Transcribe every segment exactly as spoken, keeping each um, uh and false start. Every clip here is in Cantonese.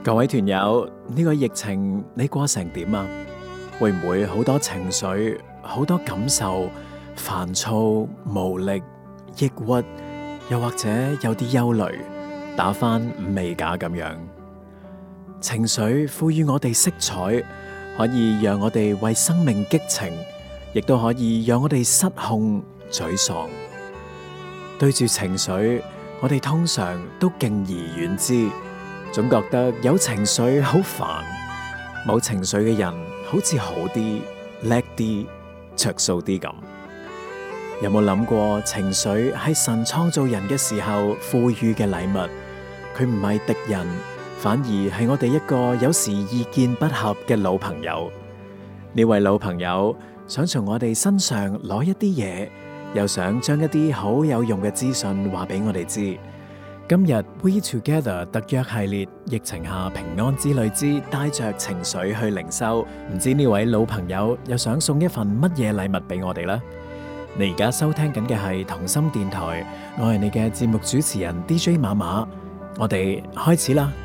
各位團友，呢個疫情你過成點啊？會唔會好多情緒、好多感受、煩躁、無力、抑鬱，又或者有啲憂慮，打返五味架咁樣？情緒賦予我哋色彩，可以讓我哋為生命激情，亦都可以讓我哋失控、沮喪。對住情緒，我哋通常都敬而遠之，總覺得有情緒好煩，冇情緒嘅人好似好啲、叻啲、着數啲咁。有冇諗過情緒係神創造人嘅時候賦予嘅禮物？佢唔係敵人，反而係我哋一個有時意見不合嘅老朋友。呢位老朋友想從我哋身上攞一啲嘢，又想將一啲好有用嘅資訊話俾我哋知。今日 We Together 特約系列，疫情下平安之旅之帶着情緒去靈修，唔知呢位老朋友又想送一份乜嘢禮物俾我哋呢？你而家收聽緊嘅係同心電台，我係你嘅節目主持人 D J 馬馬，我哋開始啦。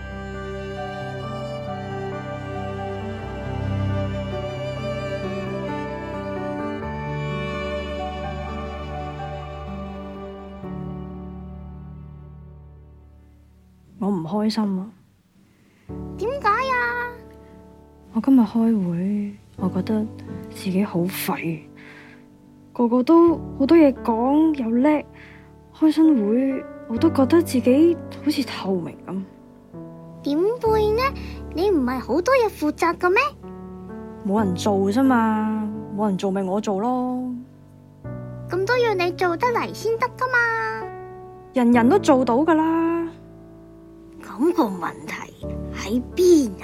我唔開心啊！ 點解啊？ 我今日開會，我覺得自己好廢，個個都好多嘢講又叻，開新會我都覺得自己好似透明咁。 點會呢？你唔係好多嘢負責嘅咩？ 冇人做啫嘛，冇人做咪我做咯。 咁都要你做得嚟先得噶嘛？ 人人都做到噶啦。 咁個問題喺邊啊？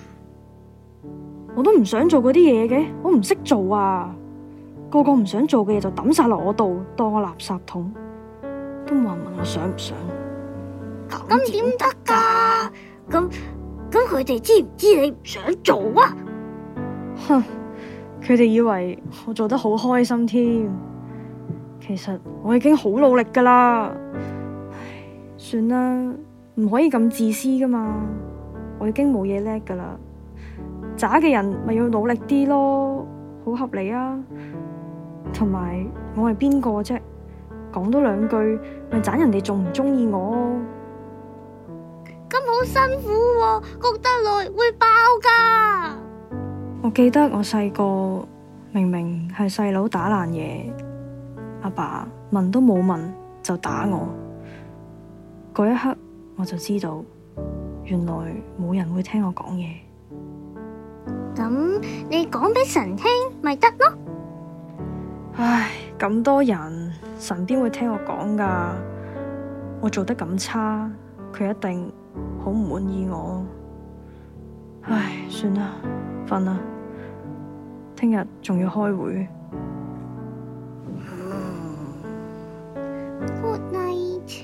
我都唔想做嗰啲嘢嘅，我唔識做啊！個個唔想做嘅嘢就抌晒落我度，當我垃圾桶，都冇人問我想唔想。 咁點得噶？咁咁佢哋知唔知你唔想做啊？ 哼，佢哋以為我做得好開心添，其實我已經好努力噶啦。唉，算啦。唔可以咁自私噶嘛，我已經冇嘢叻噶啦，渣嘅人咪要努力啲咯，好合理啊。同埋我係邊個啫？講多兩句咪盞人哋仲唔中意我？ 咁好辛苦喎，焗得耐會爆噶。 我記得我細個明明係細佬打爛嘢，阿爸問都冇問就打我，嗰一刻我就知道，原來冇人會聽我講嘢。 咁你講俾神聽咪得咯？ 唉，咁多人，神邊會聽我講噶？我做得咁差，佢一定好唔滿意我。唉，算啦，瞓啦，聽日仲要開會。 Good night。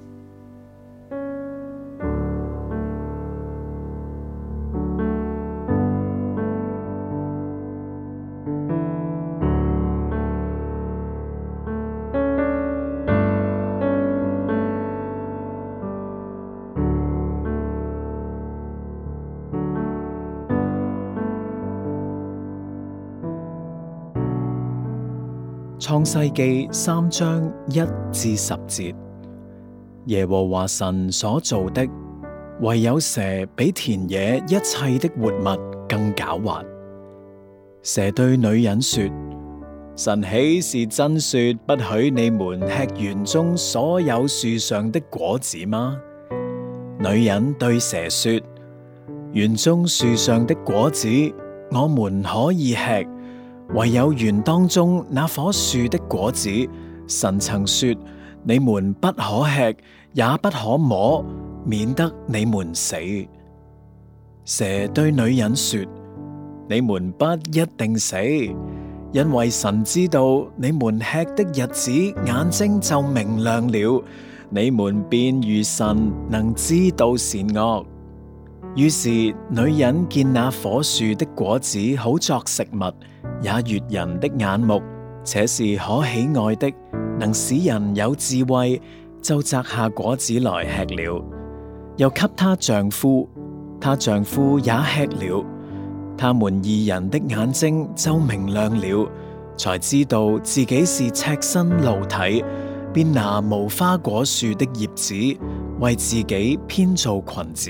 創世記三章一至十節，耶和華神所造的，唯有蛇比田野一切的活物更狡猾。蛇對女人說：神豈是真說不許你們吃園中所有樹上的果子嗎？女人對蛇說：園中樹上的果子我們可以吃，唯有園當中那棵樹的果子，神曾說你們不可吃，也不可摸，免得你們死。蛇對女人說：你們不一定死，因為神知道你們吃的日子，眼睛就明亮了，你們便如神，能知道善惡。於是女人見那棵樹的果子好作食物，也悅人的眼目，且是可喜愛的，能使人有智慧，就摘下果子來吃了，又給她丈夫， 她丈夫也吃了，他們二人的眼睛就明亮了，才知道自己是赤身露體，便拿無花果樹的葉子為自己編造裙子。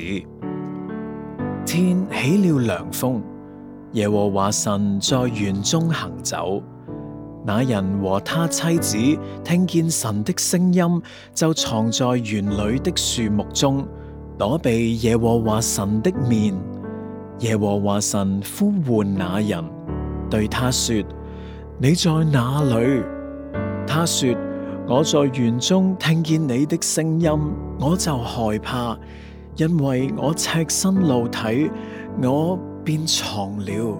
天起了涼風，耶和華神在園中行走。那人和他妻子聽見神的聲音，就藏在園裏的樹木中，躲避耶和華神的面。耶和華神呼喚那人，對他說：你在哪裏？他說：我在園中聽見你的聲音，我就害怕，因為我赤身露體，我便藏了。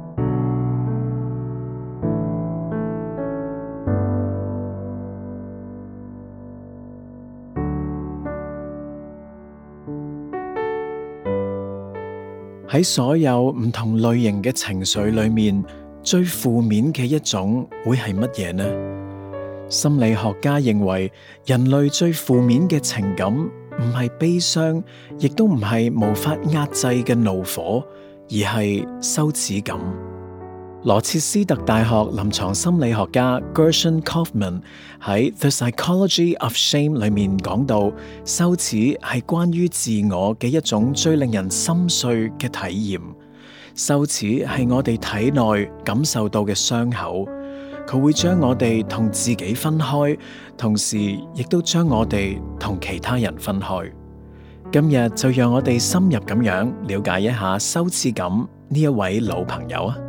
喺所有唔同類型嘅情緒裏面，最負面嘅一種會係乜嘢呢？心理學家認為，人類最負面嘅情感唔係悲傷，亦都唔係無法壓制嘅怒火，而係羞恥感。羅切斯特大學臨床心理學家 Gershon Kaufman 喺《The Psychology of Shame》裏面講到，羞恥係關於自我嘅一種最令人心碎嘅體驗。羞恥係我哋體內感受到嘅傷口，佢會將我哋同自己分開，同時亦都將我哋同其他人分開。今日就讓我哋深入咁樣了解一下羞恥感呢一位老朋友啊！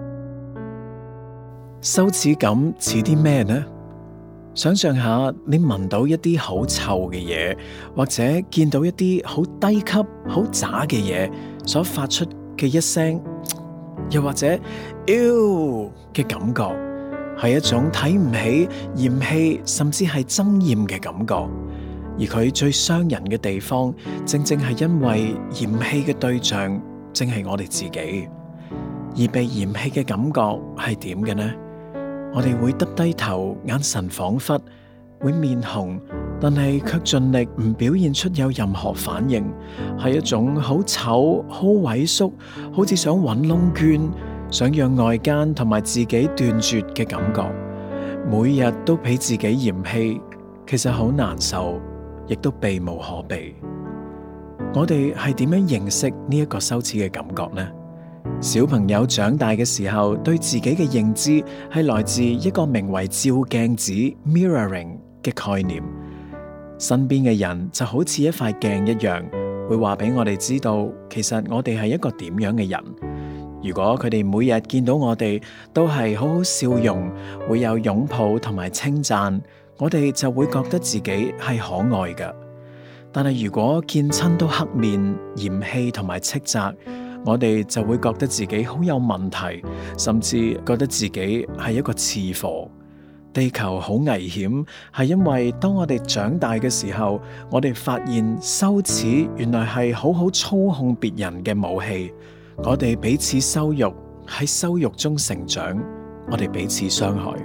羞恥感似啲咩呢？想象下你聞到一啲好臭嘅嘢，或者見到一啲好低級、好渣嘅嘢所發出嘅一聲，又或者嗚嘅感覺，係一種睇唔起、嫌棄，甚至係憎厭嘅感覺。而佢最傷人嘅地方，正正係因為嫌棄嘅對象正係我哋自己。而被嫌棄嘅感覺係點嘅呢？我哋會耷低頭，眼神恍惚，會面紅，但係卻盡力唔表現出有任何反應，係一種好醜、好萎縮，好似想搵窿捐，想讓外間同埋自己斷絕嘅感覺。每日都俾自己嫌棄，其實好難受，亦都避無可避。我哋係點樣認識呢一個羞恥嘅感覺呢？小朋友長大嘅時候，對自己嘅認知係來自一個名為照鏡子 （mirroring） 嘅概念。身邊嘅人就好似一塊鏡一樣，會話俾我哋知道，其實我哋係一個點樣嘅人。如果佢哋每日見到我哋都係好好笑容，會有擁抱同埋稱讚，我哋就會覺得自己係可愛嘅。但係如果見親都黑面、嫌棄同埋斥責，我哋就會覺得自己好有問題，甚至覺得自己係一個次貨。地球好危險，係因為當我哋長大嘅時候，我哋發現羞恥原來係好好操控別人嘅武器。我哋彼此羞辱，喺羞辱中成長，我哋彼此傷害。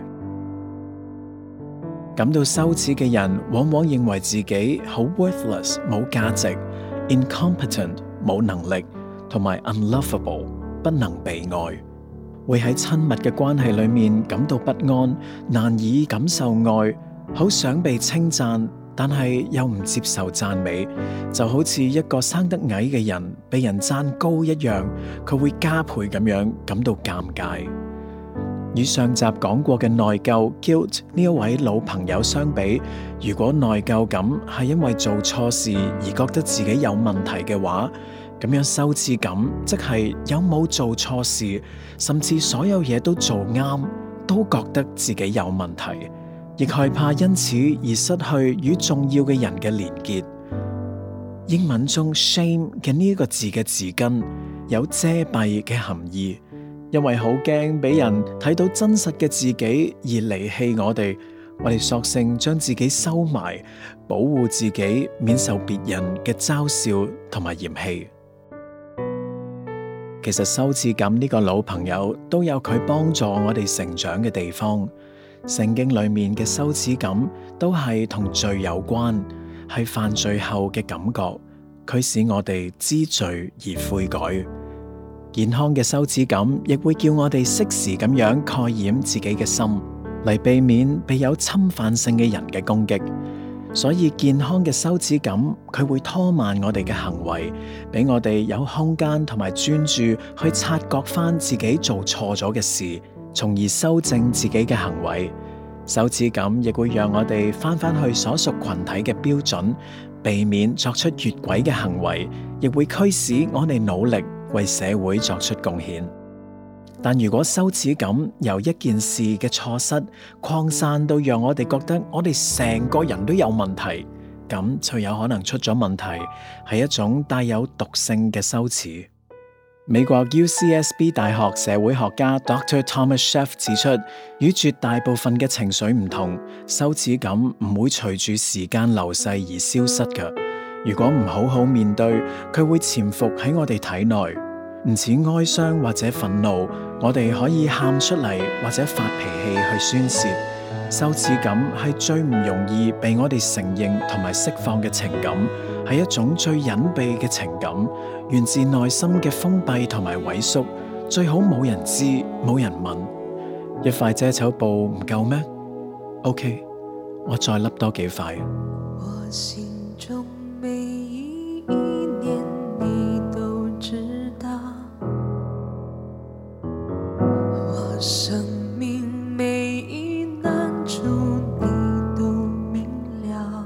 感到羞恥嘅人，往往認為自己好 worthless 冇價值 ，incompetent 冇能力，同埋 unlovable 不能被愛，會喺親密嘅關係裏面感到不安，難以感受愛，好想被稱讚，但係又唔接受讚美，就好似一個生得矮嘅人被人讚高一樣，佢會加倍咁樣感到尷尬。與上集講過嘅內疚 guilt 呢一位老朋友相比，如果內疚感係因為做錯事而覺得自己有問題嘅話，咁樣羞恥感即係有冇做錯事，甚至所有嘢都做啱，都覺得自己有問題，亦害怕因此而失去與重要嘅人嘅連結。英文中 shame 嘅呢一個字嘅字根有遮蔽嘅含義，因為好驚俾人睇到真實嘅自己而離棄我哋，我哋索性將自己收埋，保護自己免受別人嘅嘲笑同埋嫌棄。其實羞恥感呢個老朋友都有佢幫助我哋成長嘅地方。聖經裏面嘅羞恥感都係同罪有關，係犯罪後嘅感覺， 驅使我哋知罪而悔改。健康嘅羞恥感亦會叫我哋適時咁樣蓋掩自己嘅心，嚟避免被有侵犯性嘅人嘅攻擊。所以健康嘅羞恥感，佢會拖慢我哋嘅行為，俾我哋有空間同埋專注去察覺翻自己做錯咗嘅事，從而修正自己嘅行為。羞恥感亦會讓我哋翻返去所屬群體嘅標準，避免作出越軌嘅行為，亦會驅使我哋努力為社會作出貢獻。但如果羞恥感由一件事嘅錯失擴散到讓我哋覺得我哋成個人都有問題，咁就有可能出咗問題，係一種帶有毒性嘅羞恥。美國 U C S B 大學社會學家 Doctor Thomas Sheff 指出，與絕大部分嘅情緒唔同，羞恥感唔會隨住時間流逝而消失嘅。如果唔好好面對，佢會潛伏喺我哋體內。唔似哀傷或者憤怒，我哋可以喊出嚟或者發脾氣去宣洩。羞恥感係最唔容易被我哋承認同埋釋放嘅情感，係一種最隱秘嘅情感，源自內心嘅封閉同埋萎縮，最好冇人知冇人問。一塊遮醜布唔夠咩？ OK， 我再笠多幾塊。 我心中每一念你都知道，我生命每一難處你都明了，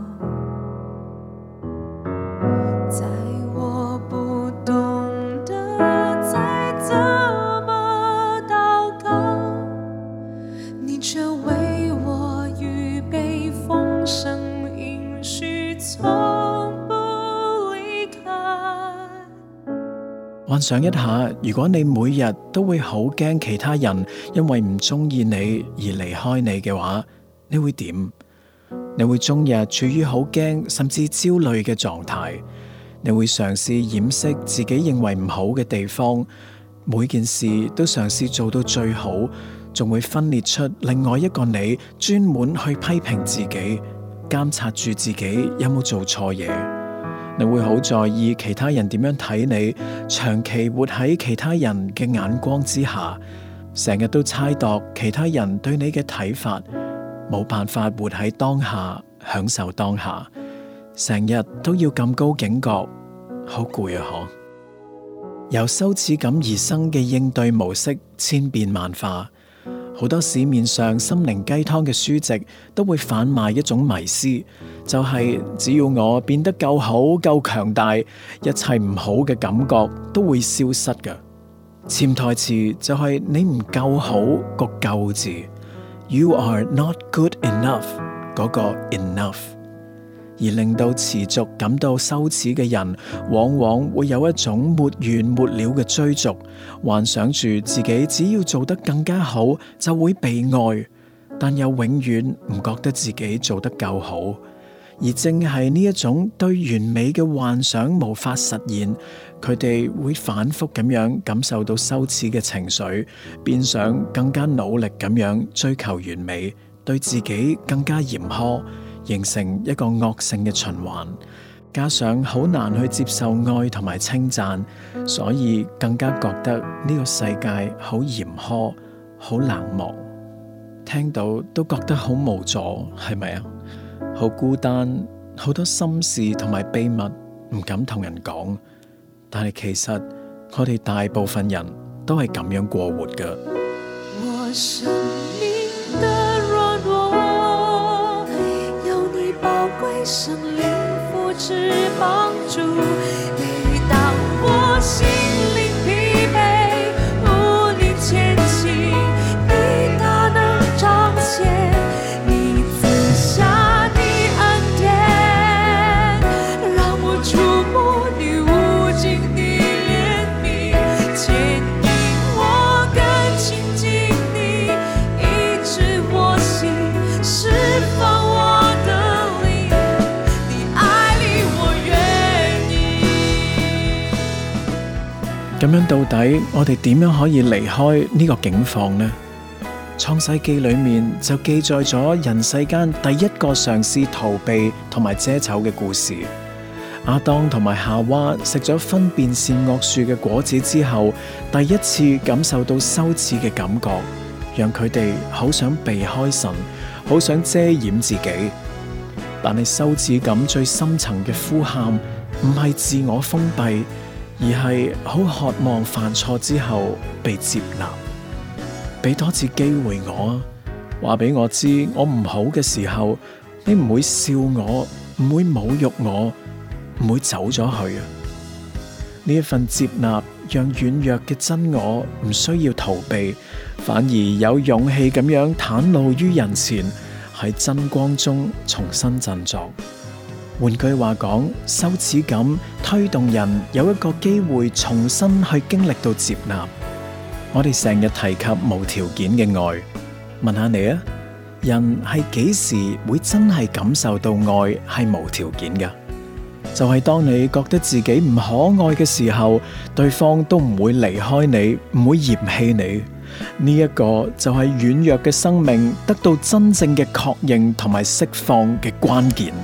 在我不懂得再怎麼禱告，你卻為我預備豐盛應許，從不離開。 幻想一下，如果你每日都會好驚其他人因為唔中意你而離開你嘅話，你會點？你會終日處於好驚甚至焦慮嘅狀態，你會嘗試掩飾自己認為唔好嘅地方，每件事都嘗試做到最好，仲會分裂出另外一個你，專門去批評自己，監察住自己有冇做錯嘢。你會好在意其他人點樣睇你，長期活喺其他人嘅眼光之下，成日都猜度其他人對你嘅睇法，冇辦法活喺當下，享受當下，成日都要咁高警覺，好攰啊！嗬，由羞恥感而生嘅應對模式千變萬化。好多市面上心靈雞湯嘅書籍都會販賣一種迷思，就係只要我變得夠好、夠強大，一切唔好嘅感覺都會消失㗎。潛台詞就係你唔夠好個夠字 ，You are not good enough 嗰個 enough，而令到持續感到羞恥嘅人，往往會有一種沒完沒了嘅追逐，幻想住自己只要做得更加好就會被愛，但又永遠唔覺得自己做得夠好。而正係呢一種對完美嘅幻想無法實現，佢哋會反覆咁樣感受到羞恥嘅情緒，變相更加努力咁樣追求完美，對自己更加嚴苛，形成一個惡性嘅循環。加上好難去接受愛同埋稱讚，所以更加覺得呢個世界好嚴苛、好冷漠，聽到都覺得好無助，係咪啊？好孤單，好多心事同埋秘密唔敢同人講，但係其實我哋大部分人都係咁樣過活㗎。 我生命的軟弱，有你寶貴生靈扶持幫助，每當我心靈疲憊，無力前行，你大能彰顯，你賜下你恩典，讓我觸摸你無盡的憐憫，牽引我更親近你，醫治我心，釋放我的靈，你愛裡我願意。 咁樣到底我哋點樣可以離開呢個境況呢？創世記裏面就記載咗人世間第一個嘗試逃避同埋遮醜嘅故事。 亞當同埋夏娃食咗分辨善惡樹嘅果子之後，第一次感受到羞恥嘅感覺，讓佢哋好想避開神，好想遮掩自己。但係羞恥感最深層嘅呼喊，唔係自我封閉，而係好渴望犯錯之後被接納。俾多次機會我啊，話俾我知我唔好嘅時候，你唔會笑我，唔會侮辱我，唔會走咗去啊！呢一份接納，讓軟弱嘅真我唔需要逃避，反而有勇氣咁樣袒露於人前，喺真光中重新振作。換句話講，羞恥感推動人有一個機會重新去經歷到接納。我哋成日提及無條件嘅愛，問下你啊，人係幾時會真係感受到愛係無條件㗎？就係當你覺得自己唔可愛嘅時候，對方都唔會離開你，唔會嫌棄你。呢一個就係軟弱嘅生命得到真正嘅確認同埋釋放嘅關鍵。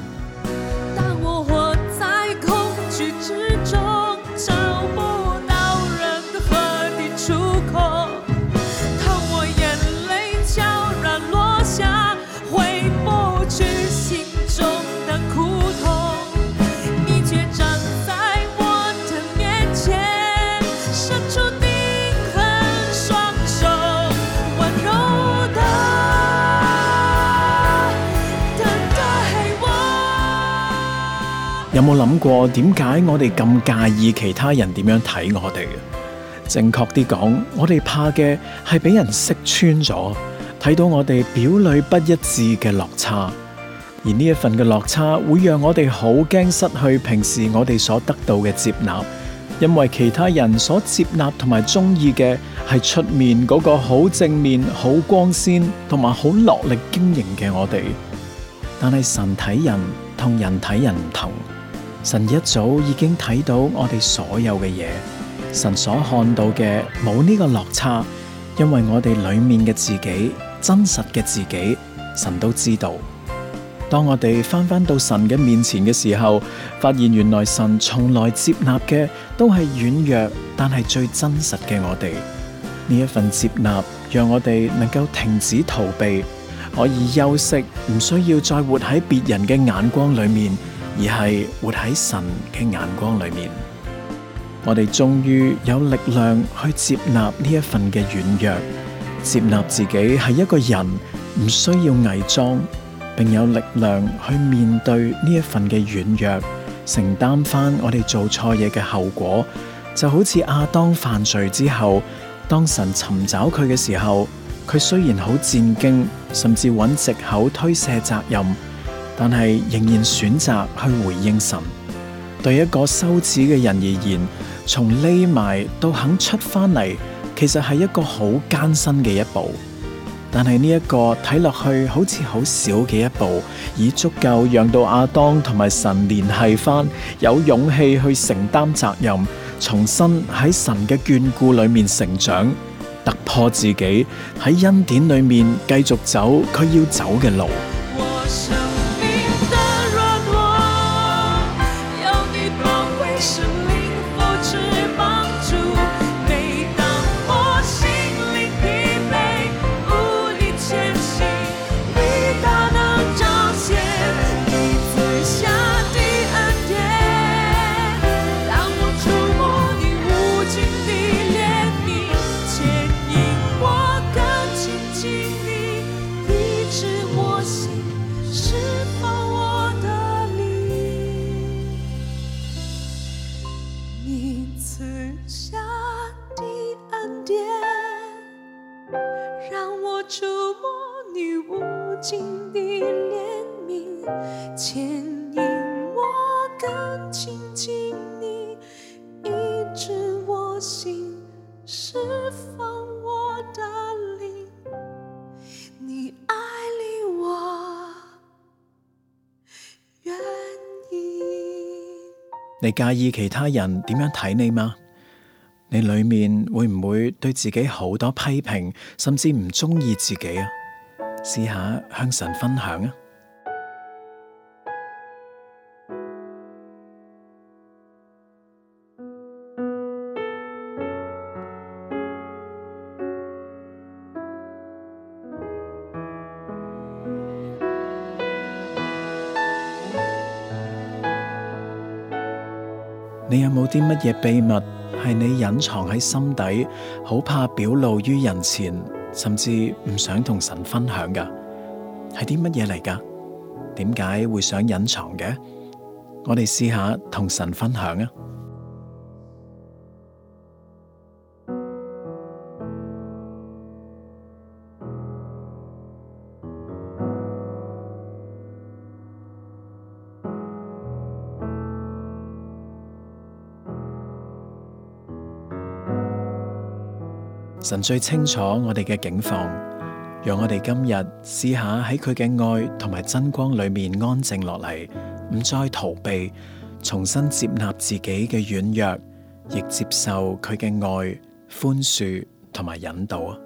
有冇諗過點解我哋咁介意其他人點樣睇我哋？正確啲講，我哋怕嘅係俾人識穿咗，睇到我哋表裏不一致嘅落差，而呢一份嘅落差會讓我哋好驚失去平時我哋所得到嘅接納，因為其他人所接納同埋中意嘅係出面嗰個好正面、好光鮮同埋好落力經營嘅我哋。但係神睇人同人睇人唔同。神一早已經睇到我哋所有嘅嘢，神所看到嘅冇呢個落差，因為我哋裏面嘅自己，真實嘅自己，神都知道。當我哋翻返到神嘅面前嘅時候，發現原來神從來接納嘅都係軟弱，但係最真實嘅我哋。呢一份接納，讓我哋能夠停止逃避，可以休息，唔需要再活喺別人嘅眼光裏面，而係活喺神嘅眼光裏面。我哋終於有力量去接納呢一份嘅軟弱，接納自己係一個人，唔需要偽裝，並有力量去面對呢一份嘅軟弱，承擔翻我哋做錯嘢嘅後果。就好似亞當犯罪之後，當神尋找佢嘅時候，佢雖然好戰驚，甚至揾藉口推卸責任，但係仍然選擇去回應神。對一個羞恥嘅人而言，從匿埋到肯出翻嚟，其實係一個好艱辛嘅一步。但係呢一個睇落去好似好少嘅一步，已足夠讓到亞當同埋神聯繫翻，有勇氣去承擔責任，重新喺神嘅眷顧裏面成長，突破自己，喺恩典裏面繼續走佢要走嘅路。 触摸你无尽的怜悯，牵引我更亲近你，医治我心，释放我的灵，你爱里我愿意。 你介意其他人點樣睇你嗎？你裏面會唔會對自己好多批評，甚至唔中意自己啊？試下向神分享啊！ 你有冇啲乜嘢秘密係你隱藏喺心底，好怕表露於人前，甚至唔想同神分享㗎？係啲乜嘢嚟㗎？點解會想隱藏嘅？我哋試下同神分享啊！神最清楚我哋嘅境況，讓我哋今日試下喺佢嘅愛同埋真光裏面安靜落嚟，唔再逃避，重新接納自己嘅軟弱，亦接受佢嘅愛、寬恕同埋引導啊！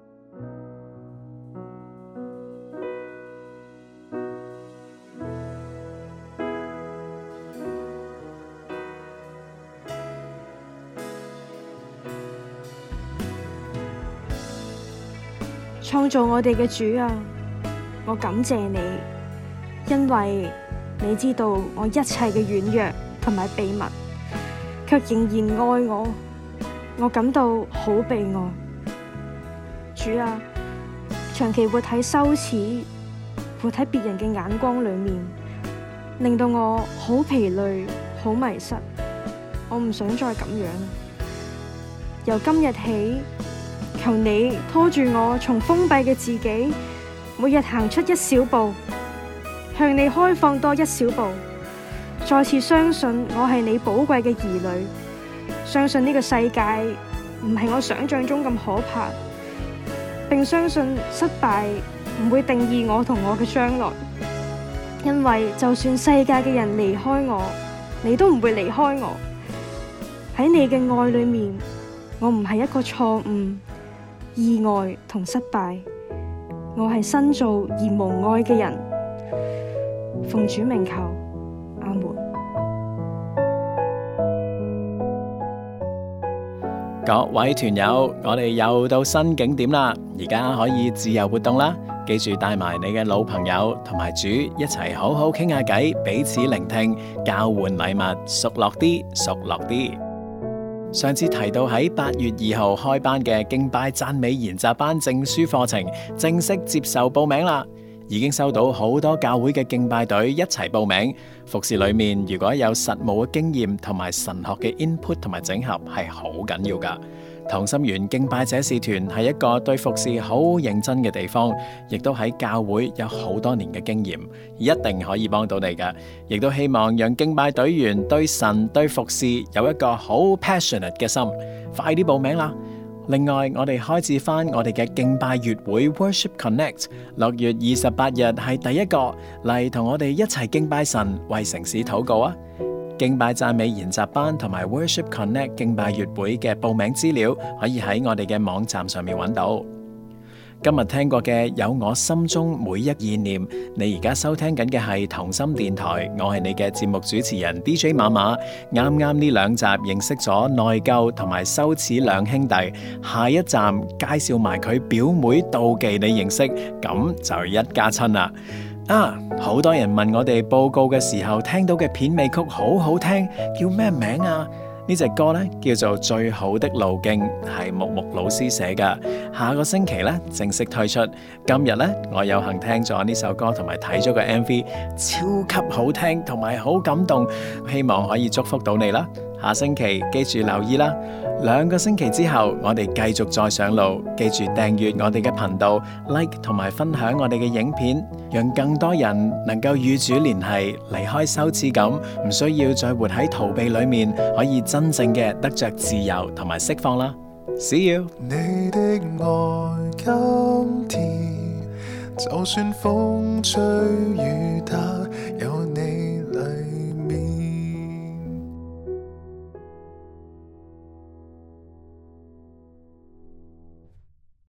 創造我哋嘅主啊，我感謝你，因為你知道我一切嘅軟弱同埋秘密，卻仍然愛我，我感到好被愛。主啊，長期活喺羞恥、活喺別人嘅眼光裏面，令到我好疲累、好迷失，我唔想再咁樣。由今日起，求你拖住我從封閉嘅自己，每日行出一小步，向你開放多一小步，再次相信我係你寶貴嘅兒女，相信呢個世界唔係我想象中咁可怕，並相信失敗唔會定義我同我嘅將來，因為就算世界嘅人離開我，你都唔會離開我。喺你嘅愛裏面，我唔係一個錯誤、意外同失敗，我係新造而無愛嘅人。奉主名求，阿門。 各位團友，我哋又到新景點啦，而家可以自由活動啦。記住帶埋你嘅老朋友同埋主一齊好好傾下偈，彼此聆聽，交換禮物，熟絡啲，熟絡啲。上次提到喺八月二號開班嘅敬拜讚美研習班證書課程正式接受報名啦，已經收到好多教會嘅敬拜隊一齊報名。服侍裏面如果有實務嘅經驗同埋神學嘅 input 同埋整合係好緊要噶。同心圓敬拜者使團係一個對服侍好認真嘅地方，亦都喺教會有好多年嘅經驗，一定可以幫到你噶。亦都希望讓敬拜隊員對神對服侍有一個好 passionate 嘅心，快啲報名啦！另外，我哋開始翻我哋嘅敬拜月會 Worship Connect， 六月二十八日係第一個，嚟同我哋一齊敬拜神，為城市禱告啊！敬拜讚美研習班同埋 Worship Connect 敬拜月會嘅報名資料可以喺我哋嘅網站上面揾到。今日聽過嘅有我心中每一意念，你而家收聽緊嘅係同心電台，我係你嘅節目主持人 D J 馬馬。啱啱呢兩集認識咗內疚同埋羞恥兩兄弟，下一站介紹埋佢表妹妒忌你認識，咁就一家親啦。啊！好多人問我哋報告嘅時候聽到嘅片尾曲好好聽，叫咩名啊？呢隻歌呢叫做《最好的路徑》，係木木老師寫噶。下個星期呢正式推出。今日呢我有幸聽咗呢首歌同埋睇咗個 M V， 超級好聽同埋好感動，希望可以祝福到你啦。下星期記住留意啦。兩個星期之後，我哋繼續再上路。記住訂閱我哋嘅頻道 ，like 同埋分享我哋嘅影片，讓更多人能夠與主聯繫，離開羞恥感，唔需要再活喺逃避裏面，可以真正嘅得着自由同埋釋放啦。See you。 你的愛今天，就算風吹雨打。